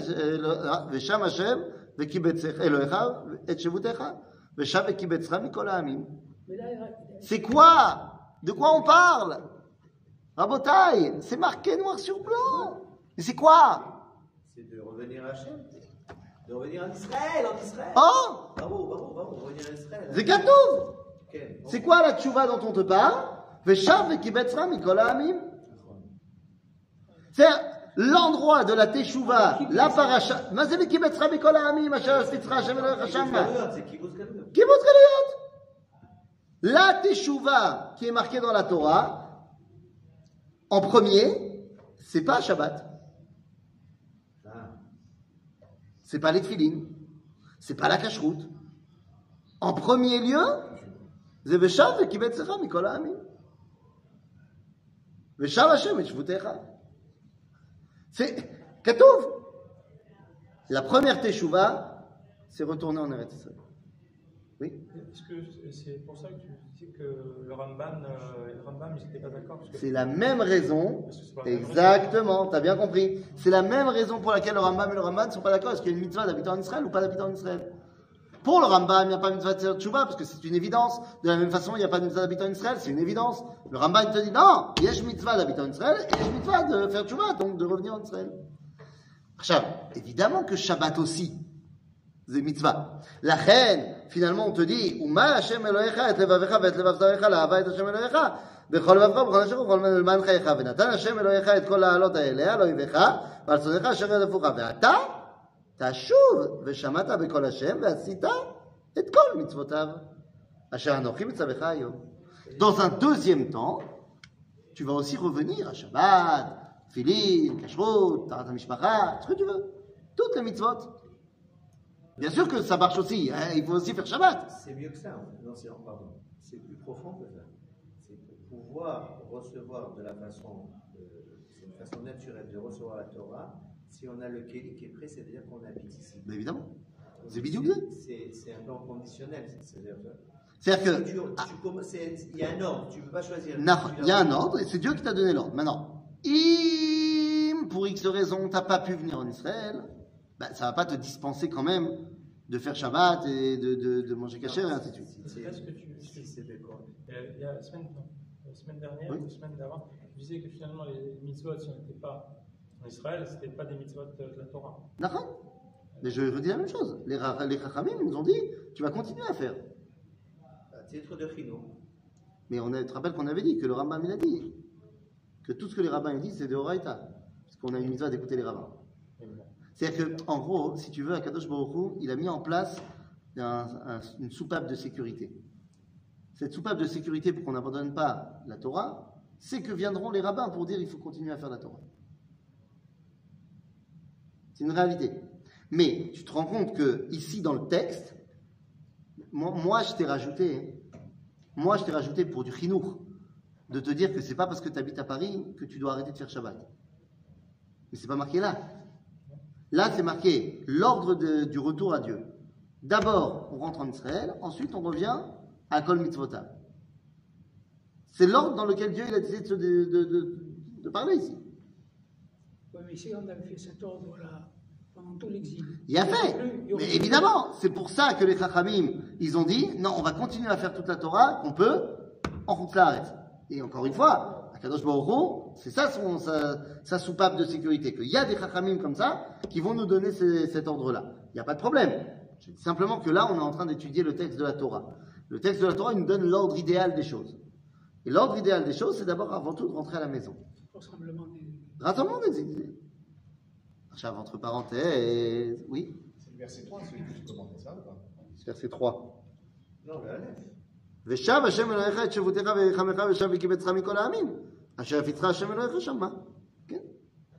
v'kibetzech Elohecha et shevutecha Vesham v'kibetzcha mikol ha'amim. C'est quoi? De quoi on parle? Rabotai, c'est marqué noir sur blanc. Mais c'est quoi? C'est de revenir à Hachem. De revenir en Israël, Oh, Bravo, revenir en Israël. c'est Katouf. Okay. C'est quoi la tchouva dont on te parle? Vesham v'kibetzcha mikol ha'amim. C'est l'endroit de la teshuva, la paracha. Mais c'est v'kibetzcha mikol ha'amim asher hafitzcha Hashem Elohecha shama. C'est Kibbutz Galuyot. Kibbutz Galuyot. La teshuva qui est marquée dans la Torah, en premier, c'est pas Shabbat. C'est pas les tefilin. C'est pas la cacheroute. En premier lieu, c'est Veshav v'kibetzcha mikol ha'amim. Veshav Hashem et shvutecha. C'est Katouf. La première teshuva, c'est retourner en Eretz Israël. Oui. Est-ce que c'est pour ça que tu dis que le Rambam, ils n'étaient pas d'accord parce que... C'est la même raison. Parce que c'est pas la même Exactement, tu as bien compris. C'est la même raison pour laquelle le Rambam et le Ramban ne sont pas d'accord. Est-ce qu'il y a une mitzvah d'habiter en Israël ou pas d'habiter en Israël? Pour le Rambam, il n'y a pas de mitzvah de faire tchouva parce que c'est une évidence. De la même façon, il n'y a pas de mitzvah d'habiter en Israël, c'est une évidence. Le Rambam il te dit non, il y a une mitzvah d'habiter en Israël et il y a une mitzvah de faire tchouva, donc de revenir en Israël. Évidemment que Shabbat aussi, c'est mitzvah. La reine, finalement, on te dit, Uma Hashem Elohecha et levavecha et levav zarecha la'ava et Hashem Elohecha bechol levavcha b'chol nafshecha b'chol זמן חייך ונתן השם אלוהיך את כל העלות האלה על אויביך ועל שונאיך אשר ירדפוך ואתה תשוב ושמעת בקול השם ועשית את כל מצוותיו אשר אנוכי מצווך היום. Dans un deuxième temps, tu vas aussi revenir à Shabbat, Tfilin, Kashrut, Tarat HaMishpacha, ce que tu veux, toutes les mitzvot. Bien sûr que ça marche aussi, hein, il faut aussi faire Shabbat. C'est mieux que ça. Non, pardon. C'est plus profond que ça. C'est pour pouvoir recevoir de la façon, c'est une façon naturelle de recevoir la Torah. Si on a le kéli qui est prêt, c'est-à-dire qu'on habite ici. Mais évidemment. C'est C'est un plan conditionnel. C'est-à-dire que il y a un ordre, tu ne peux pas choisir. Il y a un ordre et c'est Dieu qui t'a donné l'ordre. Maintenant, pour X raison, tu n'as pas pu venir en Israël, ben, ça ne va pas te dispenser quand même de faire Shabbat et de manger kasher et ainsi de suite. C'est là ce que c'est d'accord. Il y a la semaine dernière, ou la semaine d'avant, tu disais que finalement les mitzvot, si on n'était pas en Israël, ce n'était pas des mitzvot de la Torah. D'accord. Mais je redis la même chose. Les Chachamim nous ont dit, tu vas continuer à faire. Titre de Chino. Mais tu te rappelles qu'on avait dit que le Rambam il a dit que tout ce que les rabbins disent c'est de Horaïta. Parce qu'on a une mitzvah d'écouter les rabbins. C'est-à-dire qu'en gros, si tu veux, Akadosh Baruch Hu, il a mis en place une soupape de sécurité. Cette soupape de sécurité pour qu'on n'abandonne pas la Torah, c'est que viendront les rabbins pour dire il faut continuer à faire la Torah. C'est une réalité. Mais tu te rends compte que ici dans le texte, moi je t'ai rajouté pour du chinour, de te dire que c'est pas parce que tu habites à Paris que tu dois arrêter de faire Shabbat. Mais c'est pas marqué là. Là, c'est marqué l'ordre du retour à Dieu. D'abord, on rentre en Israël, ensuite on revient à Kol Mitzvotav. C'est l'ordre dans lequel Dieu il a décidé de parler ici. Oui, mais si on avait fait cet ordre-là pendant tout l'exil. Il a fait. Mais évidemment, c'est pour ça que les Chachamim, ils ont dit, non, on va continuer à faire toute la Torah qu'on peut en route l'arrête. Et encore une fois, Akadosh Baruch Hu, c'est ça sa soupape de sécurité, qu'il y a des Chachamim comme ça qui vont nous donner cet ordre-là. Il n'y a pas de problème. Je dis simplement que là, on est en train d'étudier le texte de la Torah. Le texte de la Torah, il nous donne l'ordre idéal des choses. Et l'ordre idéal des choses, c'est d'abord, avant tout, de rentrer à la maison. Rassemblement des idées. Entre parenthèses, oui. C'est le verset 3, celui que tu commentais ça ou pas? C'est verset 3. Non, le Aleph. ושב השם אלוהיך את שבותך וירחמך ושב וקיבצך מכל העמים אשר הפיצך השם אלוהיך שמה. כן?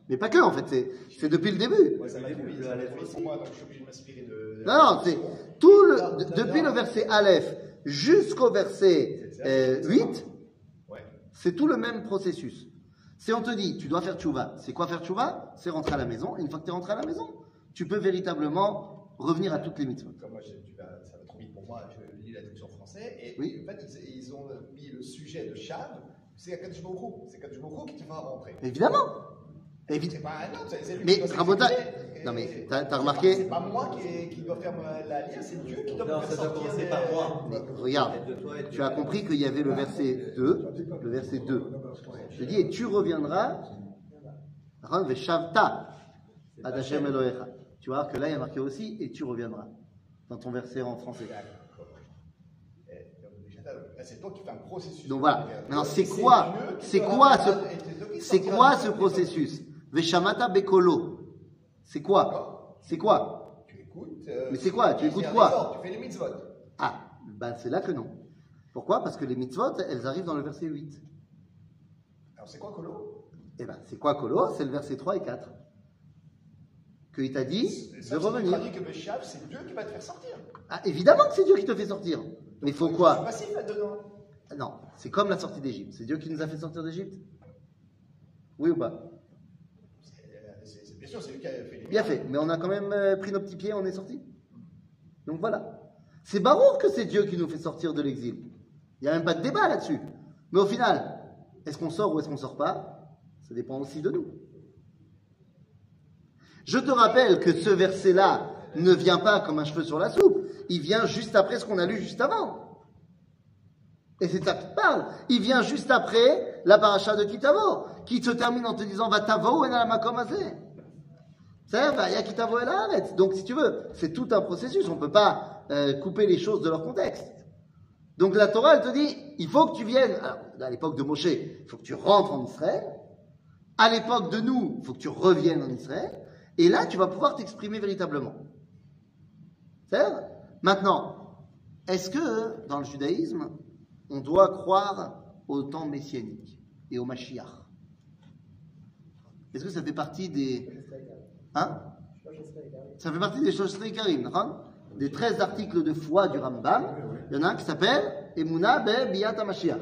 Mais pas que, en fait, c'est depuis le début. Ouais, ça m'a début, pour moi, donc je suis obligé de m'inspirer de. Non, c'est tout depuis le verset Aleph jusqu'au verset 8, Ouais. c'est tout le même processus. Si on te dit, tu dois faire tchouva, c'est quoi faire tchouva? C'est rentrer à la maison, et une fois que tu es rentré à la maison, tu peux véritablement revenir à toutes les mitzvot. Comme moi, ça va trop vite pour moi, je lis la traduction français, et Oui. en fait, ils ont mis le sujet de Shav, c'est Akadosh Baruch Hu. C'est Akadosh Baruch Hu qui te fera rentrer. Évidemment. C'est pas un autre, c'est lui Mais qui doit Rabotai, s'exprimer, non mais et t'as remarqué, c'est pas moi qui dois faire la lien, c'est Dieu qui doit Non, me ça faire doit sortir. commencer par moi. regarde, De toi et de tu as compris qu'il y avait le verset 2, le verset 2. Je dis, et tu reviendras, Veshavta, ad Hashem Elohecha. Tu vas voir que là, il y a marqué aussi, et tu reviendras, dans ton verset en français. C'est toi qui fais un processus. Donc voilà. Maintenant, c'est quoi ce processus? Veshamata Bekolo. C'est quoi? C'est quoi? Tu écoutes. Mais c'est quoi? Tu écoutes quoi? Tu fais les mitzvot. Ah, ben c'est là que non. Pourquoi? Parce que les mitzvot, elles arrivent dans le verset 8. Alors c'est quoi Kolo? Eh ben, c'est quoi Kolo? C'est le verset 3 et 4. Qu'il t'a dit de revenir. Tu dis que le Shav, c'est Dieu qui va te faire sortir. Ah, évidemment que c'est Dieu qui te fait sortir. Mais il faut C'est quoi? passif là-dedans. Non, c'est comme la sortie d'Égypte. C'est Dieu qui nous a fait sortir d'Égypte? Oui ou pas? Bien sûr, c'est lui qui a fait les Bien fait. Mais on a quand même pris nos petits pieds, on est sorti. Donc voilà. C'est barour que c'est Dieu qui nous fait sortir de l'exil. Il n'y a même pas de débat là-dessus. Mais au final, est-ce qu'on sort ou est-ce qu'on ne sort pas? Ça dépend aussi de nous. Je te rappelle que ce verset-là ne vient pas comme un cheveu sur la soupe. Il vient juste après ce qu'on a lu juste avant. Et c'est ça qui parle. Il vient juste après la paracha de Kitavo, qui se termine en te disant va tavo en alamakom azeh. C'est-à-dire, va ya kitavo el haaretz. Donc, si tu veux, c'est tout un processus. On ne peut pas couper les choses de leur contexte. Donc, la Torah, elle te dit, il faut que tu viennes. Alors, à l'époque de Moshe, il faut que tu rentres en Israël. À l'époque de nous, il faut que tu reviennes en Israël. Et là, tu vas pouvoir t'exprimer véritablement. C'est-à-dire, maintenant, est-ce que, dans le judaïsme, on doit croire au temps messianique et au Mashiach? Est-ce que ça fait partie des... Hein? Ça fait partie des Shoshri Karim, des 13 articles de foi du Rambam. Il y en a un qui s'appelle Emuna be Biyat HaMashiach.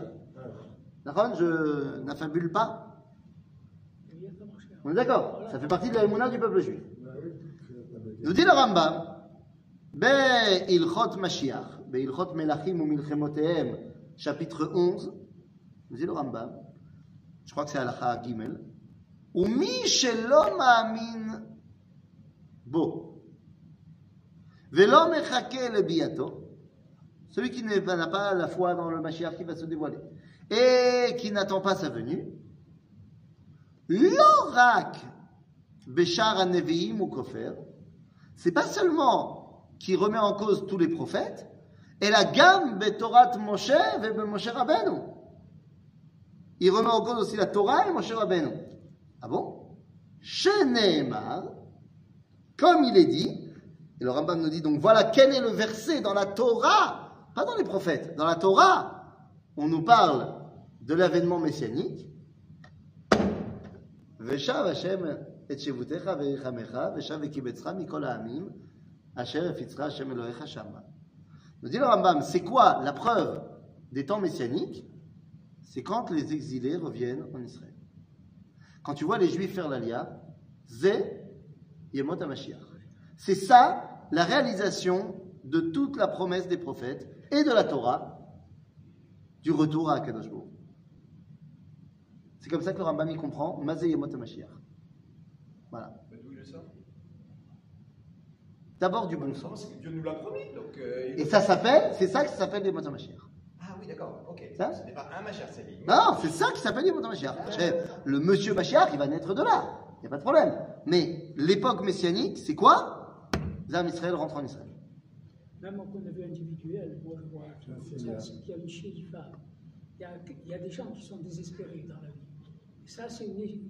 Je n'affabule pas. On est d'accord? Ça fait partie de la Emuna du peuple juif. Nous dit le Rambam, Be Ilchot Mashiach, Be Ilchot Melachim ou Milchemotehem, chapitre 11, nous dit le Rambam, je crois que c'est Halacha Gimel, ou mi shelo ma'amin bo, velo mechake lebiyato, celui qui n'a pas la foi dans le Mashiach qui va se dévoiler, et qui n'attend pas sa venue, l'orak beshar haneviim ou kofer, c'est pas seulement qui remet en cause tous les prophètes, et la gamme betorat Moshe et Moshe Rabbeinu. Il remet en cause aussi la Torah et Moshe Rabbeinu. Ah bon? Sheneemar, comme il est dit, et le Rambam nous dit donc voilà quel est le verset dans la Torah, pas dans les prophètes, dans la Torah, on nous parle de l'avènement messianique. Veshav Hashem et shevutecha ve'echamecha, veshav ve'kibetzcha mikol ha'amim, asher efitzcha Hashem Elohecha shama. Nous dit le Rambam, c'est quoi la preuve des temps messianiques? C'est quand les exilés reviennent en Israël. Quand tu vois les Juifs faire l'Aliyah, Zé Yemot HaMashiach. C'est ça la réalisation de toute la promesse des prophètes et de la Torah du retour à Akadosh Baruch. C'est comme ça que le Rambam y comprend Mazé Yemot HaMashiach. Voilà. Mais d'où il sort? D'abord du bon sens. Parce que Dieu nous l'a promis. Donc, Et ça s'appelle, c'est ça que ça s'appelle Yemot HaMashiach. Ah oui, d'accord, ok. Ça Ce n'est pas un Mashiach, c'est lui. Non, c'est ça qui s'appelle Yemot HaMashiach. Le monsieur Mashiach, il va naître de là. Il n'y a pas de problème. Mais l'époque messianique, c'est quoi? Zam Israël rentre en Israël. Même au point de vue individuel, moi je vois qu'il y a une shérifa. Il y a des gens qui sont désespérés dans la vie. Et ça, c'est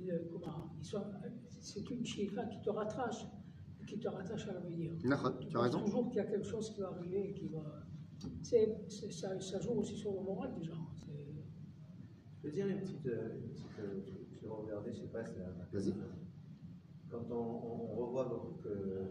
une shérifa qui te rattache à l'avenir. Tu as raison. Toujours qu'il y a quelque chose qui va arriver, qui va. Ça joue aussi sur le moral des gens. Je peux dire une petite. Je vais regarder, je ne sais pas si Vas-y. on revoit que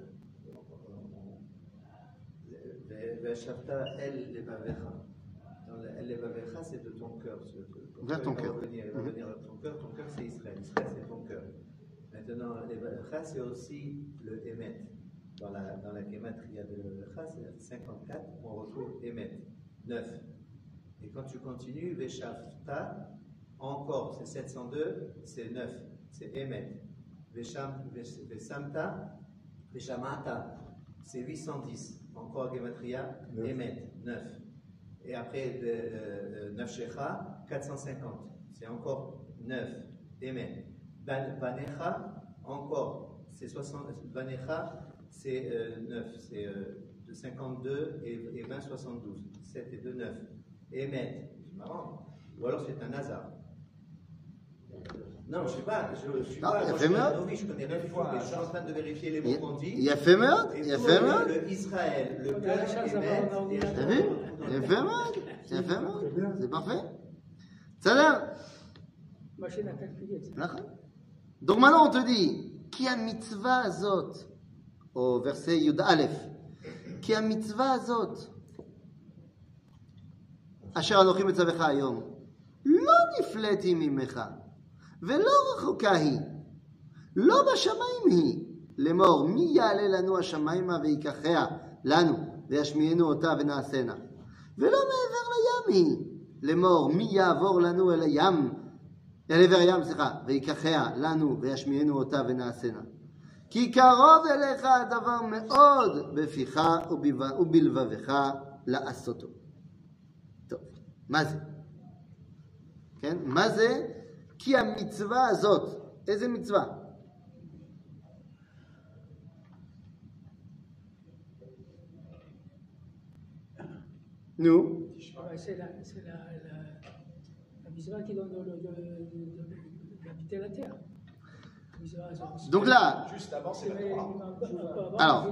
Veshavta el levavecha. El levavecha, c'est de ton cœur. Vers ton cœur. Il va venir de ton cœur. Ton cœur, c'est Israël. Israël, c'est ton cœur. Maintenant, levavecha, c'est aussi le émet. Dans la gématria de levavecha, c'est 54, on retrouve émet, 9. Et quand tu continues, Veshavta, encore, c'est 702, c'est 9, c'est émet. Vesamta, Veshamata, c'est 810. Encore Gematria, Emet, 9. Et après, 9 Shecha, 450. C'est encore 9. Emet. Banecha, encore, c'est 60. Banecha, c'est 9. C'est de 52 et 20, 72. 7 et 2, 9. Emet. C'est marrant. Ou alors c'est un hasard. Non, je ne sais pas. Je suis non, pas. Il y a fait meurtre. Je connais rien du tout, mais je suis en train de vérifier les mots qu'on dit. Il y a fait meurtre. Il y a fait meurtre. Le Israël, le cœur, Emet. T'as vu? Il y a fait meurtre. Il y a fait meurtre. C'est parfait. Ça là. Machine à calculer. Donc maintenant on te dit, qui a mitzvah azot, au verset Yud Aleph, qui a mitzvah azot, asher anochi mitzavecha hayom, lo nifleti mimecha. ולא רחוקה היא, לא בשמיים היא, לאמור מי יעלה לנו השמיימה ויקחיה לנו וישמיענו אותה ונעשנה, ולא מעבר לים היא, לאמור מי יעבור לנו אל עבר הים ויקחיה לנו וישמיענו אותה ונעשנה, כי קרוב אליך הדבר מאוד בפיך ובלבבך לעשותו. טוב, מה זה? כן? מה זה? כי המצווה הזאת, איזה מצווה? נו? C'est la mitzvah qui donne d'habiter la terre. Donc là, Juste avant, c'est la Torah. alors,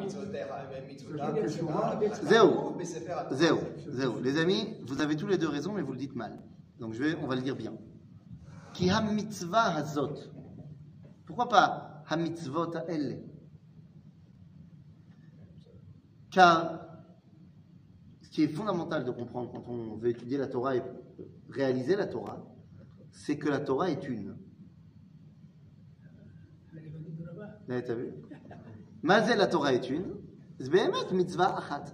Zéro. zéro. Les amis, vous avez tous les deux raison, mais vous le dites mal. Donc on va le dire bien. Ki ha-mitzvah hazot. Pourquoi pas ha-mitzvot ha'elle? Car ce qui est fondamental de comprendre quand on veut étudier la Torah et réaliser la Torah, c'est que la Torah est une. Là, t'as vu? Mazé la Torah est une. Zbehemet mitzvah achat.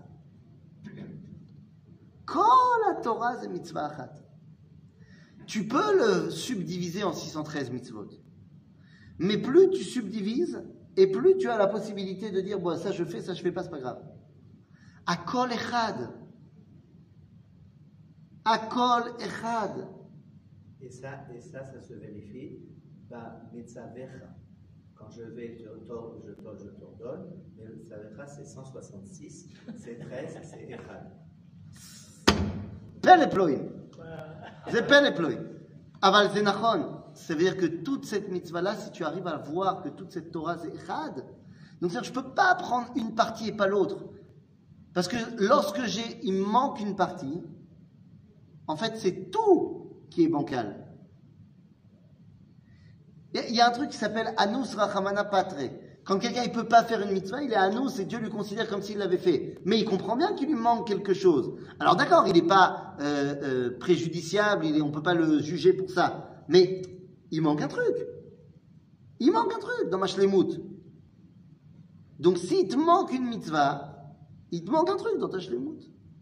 Kol la Torah c'est mitzvah achat. Tu peux le subdiviser en 613 mitzvot. Mais plus tu subdivises, et plus tu as la possibilité de dire, bon, ça je fais pas, c'est pas grave. Akol echad. Akol echad. Et ça se vérifie. Bah, mitzavecha. Quand je vais, je t'ordonne, mais mitzavecha c'est 166, c'est 13, c'est echad. Pen eploim. C'est pen eploim. Aval c'est nachon. Ça veut dire que toute cette mitzvah-là, si tu arrives à voir que toute cette Torah c'est echad, donc c'est-à-dire je ne peux pas prendre une partie et pas l'autre. Parce que lorsque il me manque une partie, en fait c'est tout qui est bancal. Il y a un truc qui s'appelle Anus Rachamana Patre. Quand quelqu'un ne peut pas faire une mitzvah, il est Anus et Dieu lui considère comme s'il l'avait fait. Mais il comprend bien qu'il lui manque quelque chose. Alors d'accord, il n'est pas préjudiciable, on ne peut pas le juger pour ça. Mais il manque un truc. Il manque un truc dans ma shlemut. Donc s'il te manque une mitzvah, il te manque un truc dans ta shlemut.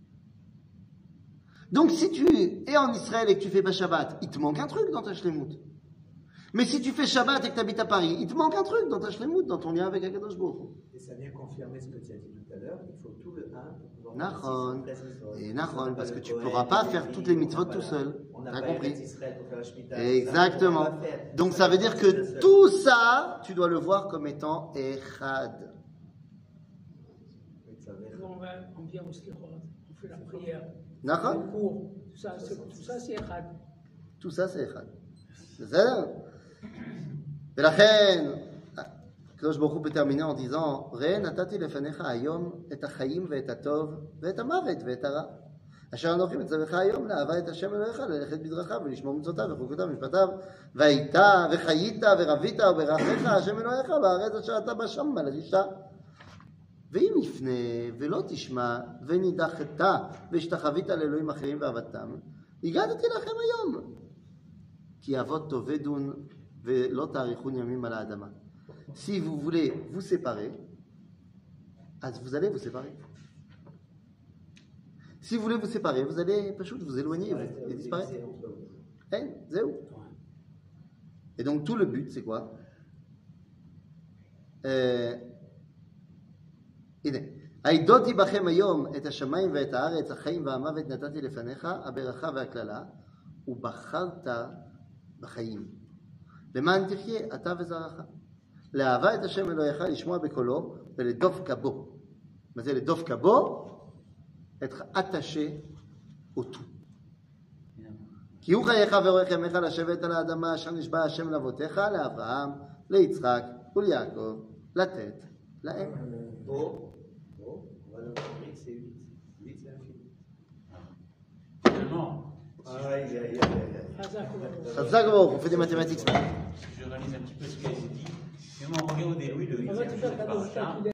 Donc si tu es en Israël et que tu fais pas Shabbat, il te manque un truc dans ta shlemut. Mais si tu fais Shabbat et que tu habites à Paris, il te manque un truc dans ta shlemut, dans ton lien avec Akadosh Baruch Hu. Et ça vient confirmer ce que tu as dit tout à l'heure, il faut tout le 1 pour pouvoir Nachon. Et Nachon, parce que tu ne ne pourras pas faire toutes les mitzvot tout seul. T'as compris? Exactement. Donc ça veut dire que tout ça, tu dois le voir comme étant Echad. On vient au Slichot, on fait la prière. Nachon? Le cours, tout ça c'est Echad. Tout ça c'est Echad. C'est ça? ולכן, הקדוש ברוך הוא peut terminer en disant, ראה נתתי לפניך היום את החיים ואת הטוב ואת המוות ואת הרע. אשר אנוכי מצווך היום לאהבה את השם אלוהיך, ללכת בדרכיו ולשמור מצוותיו וחוקותיו ומשפטיו, והיית וחיית ורבית וברכך השם אלוהיך בארץ אשר אתה בה שמה לרישה. ואם יפנה ולא תשמע ונידחת והשתחווית לאלוהים אחרים ועבדתם, הגעתי לכם היום. כי אבות תאבדון ולא תאריכון ימים על האדמה. Si vous voulez vous séparer, vous allez vous séparer. Si vous voulez vous séparer, vous allez vous éloigner et disparaître. C'est où? Et donc tout le but, c'est quoi? הנה, העידותי בכם היום את השמיים ואת הארץ, החיים והמוות נתתי לפניך, הברכה והקללה, ובחרת בחיים. למען תחיה אתה וזרעך. לאהבה את השם אלוהיך, לשמוע בקולו ולדבק בו. מה זה לדבק בו? être attaché au tout. כי הוא חייך ואורך ימיך לשבת על האדמה אשר נשבע השם לאבותיך, לאברהם, ליצחק וליעקב, לתת להם. חזק וברוך, on fait des mathématiques. Je réalise un petit peu ce qui a été dit. Mais on regarde Louis, le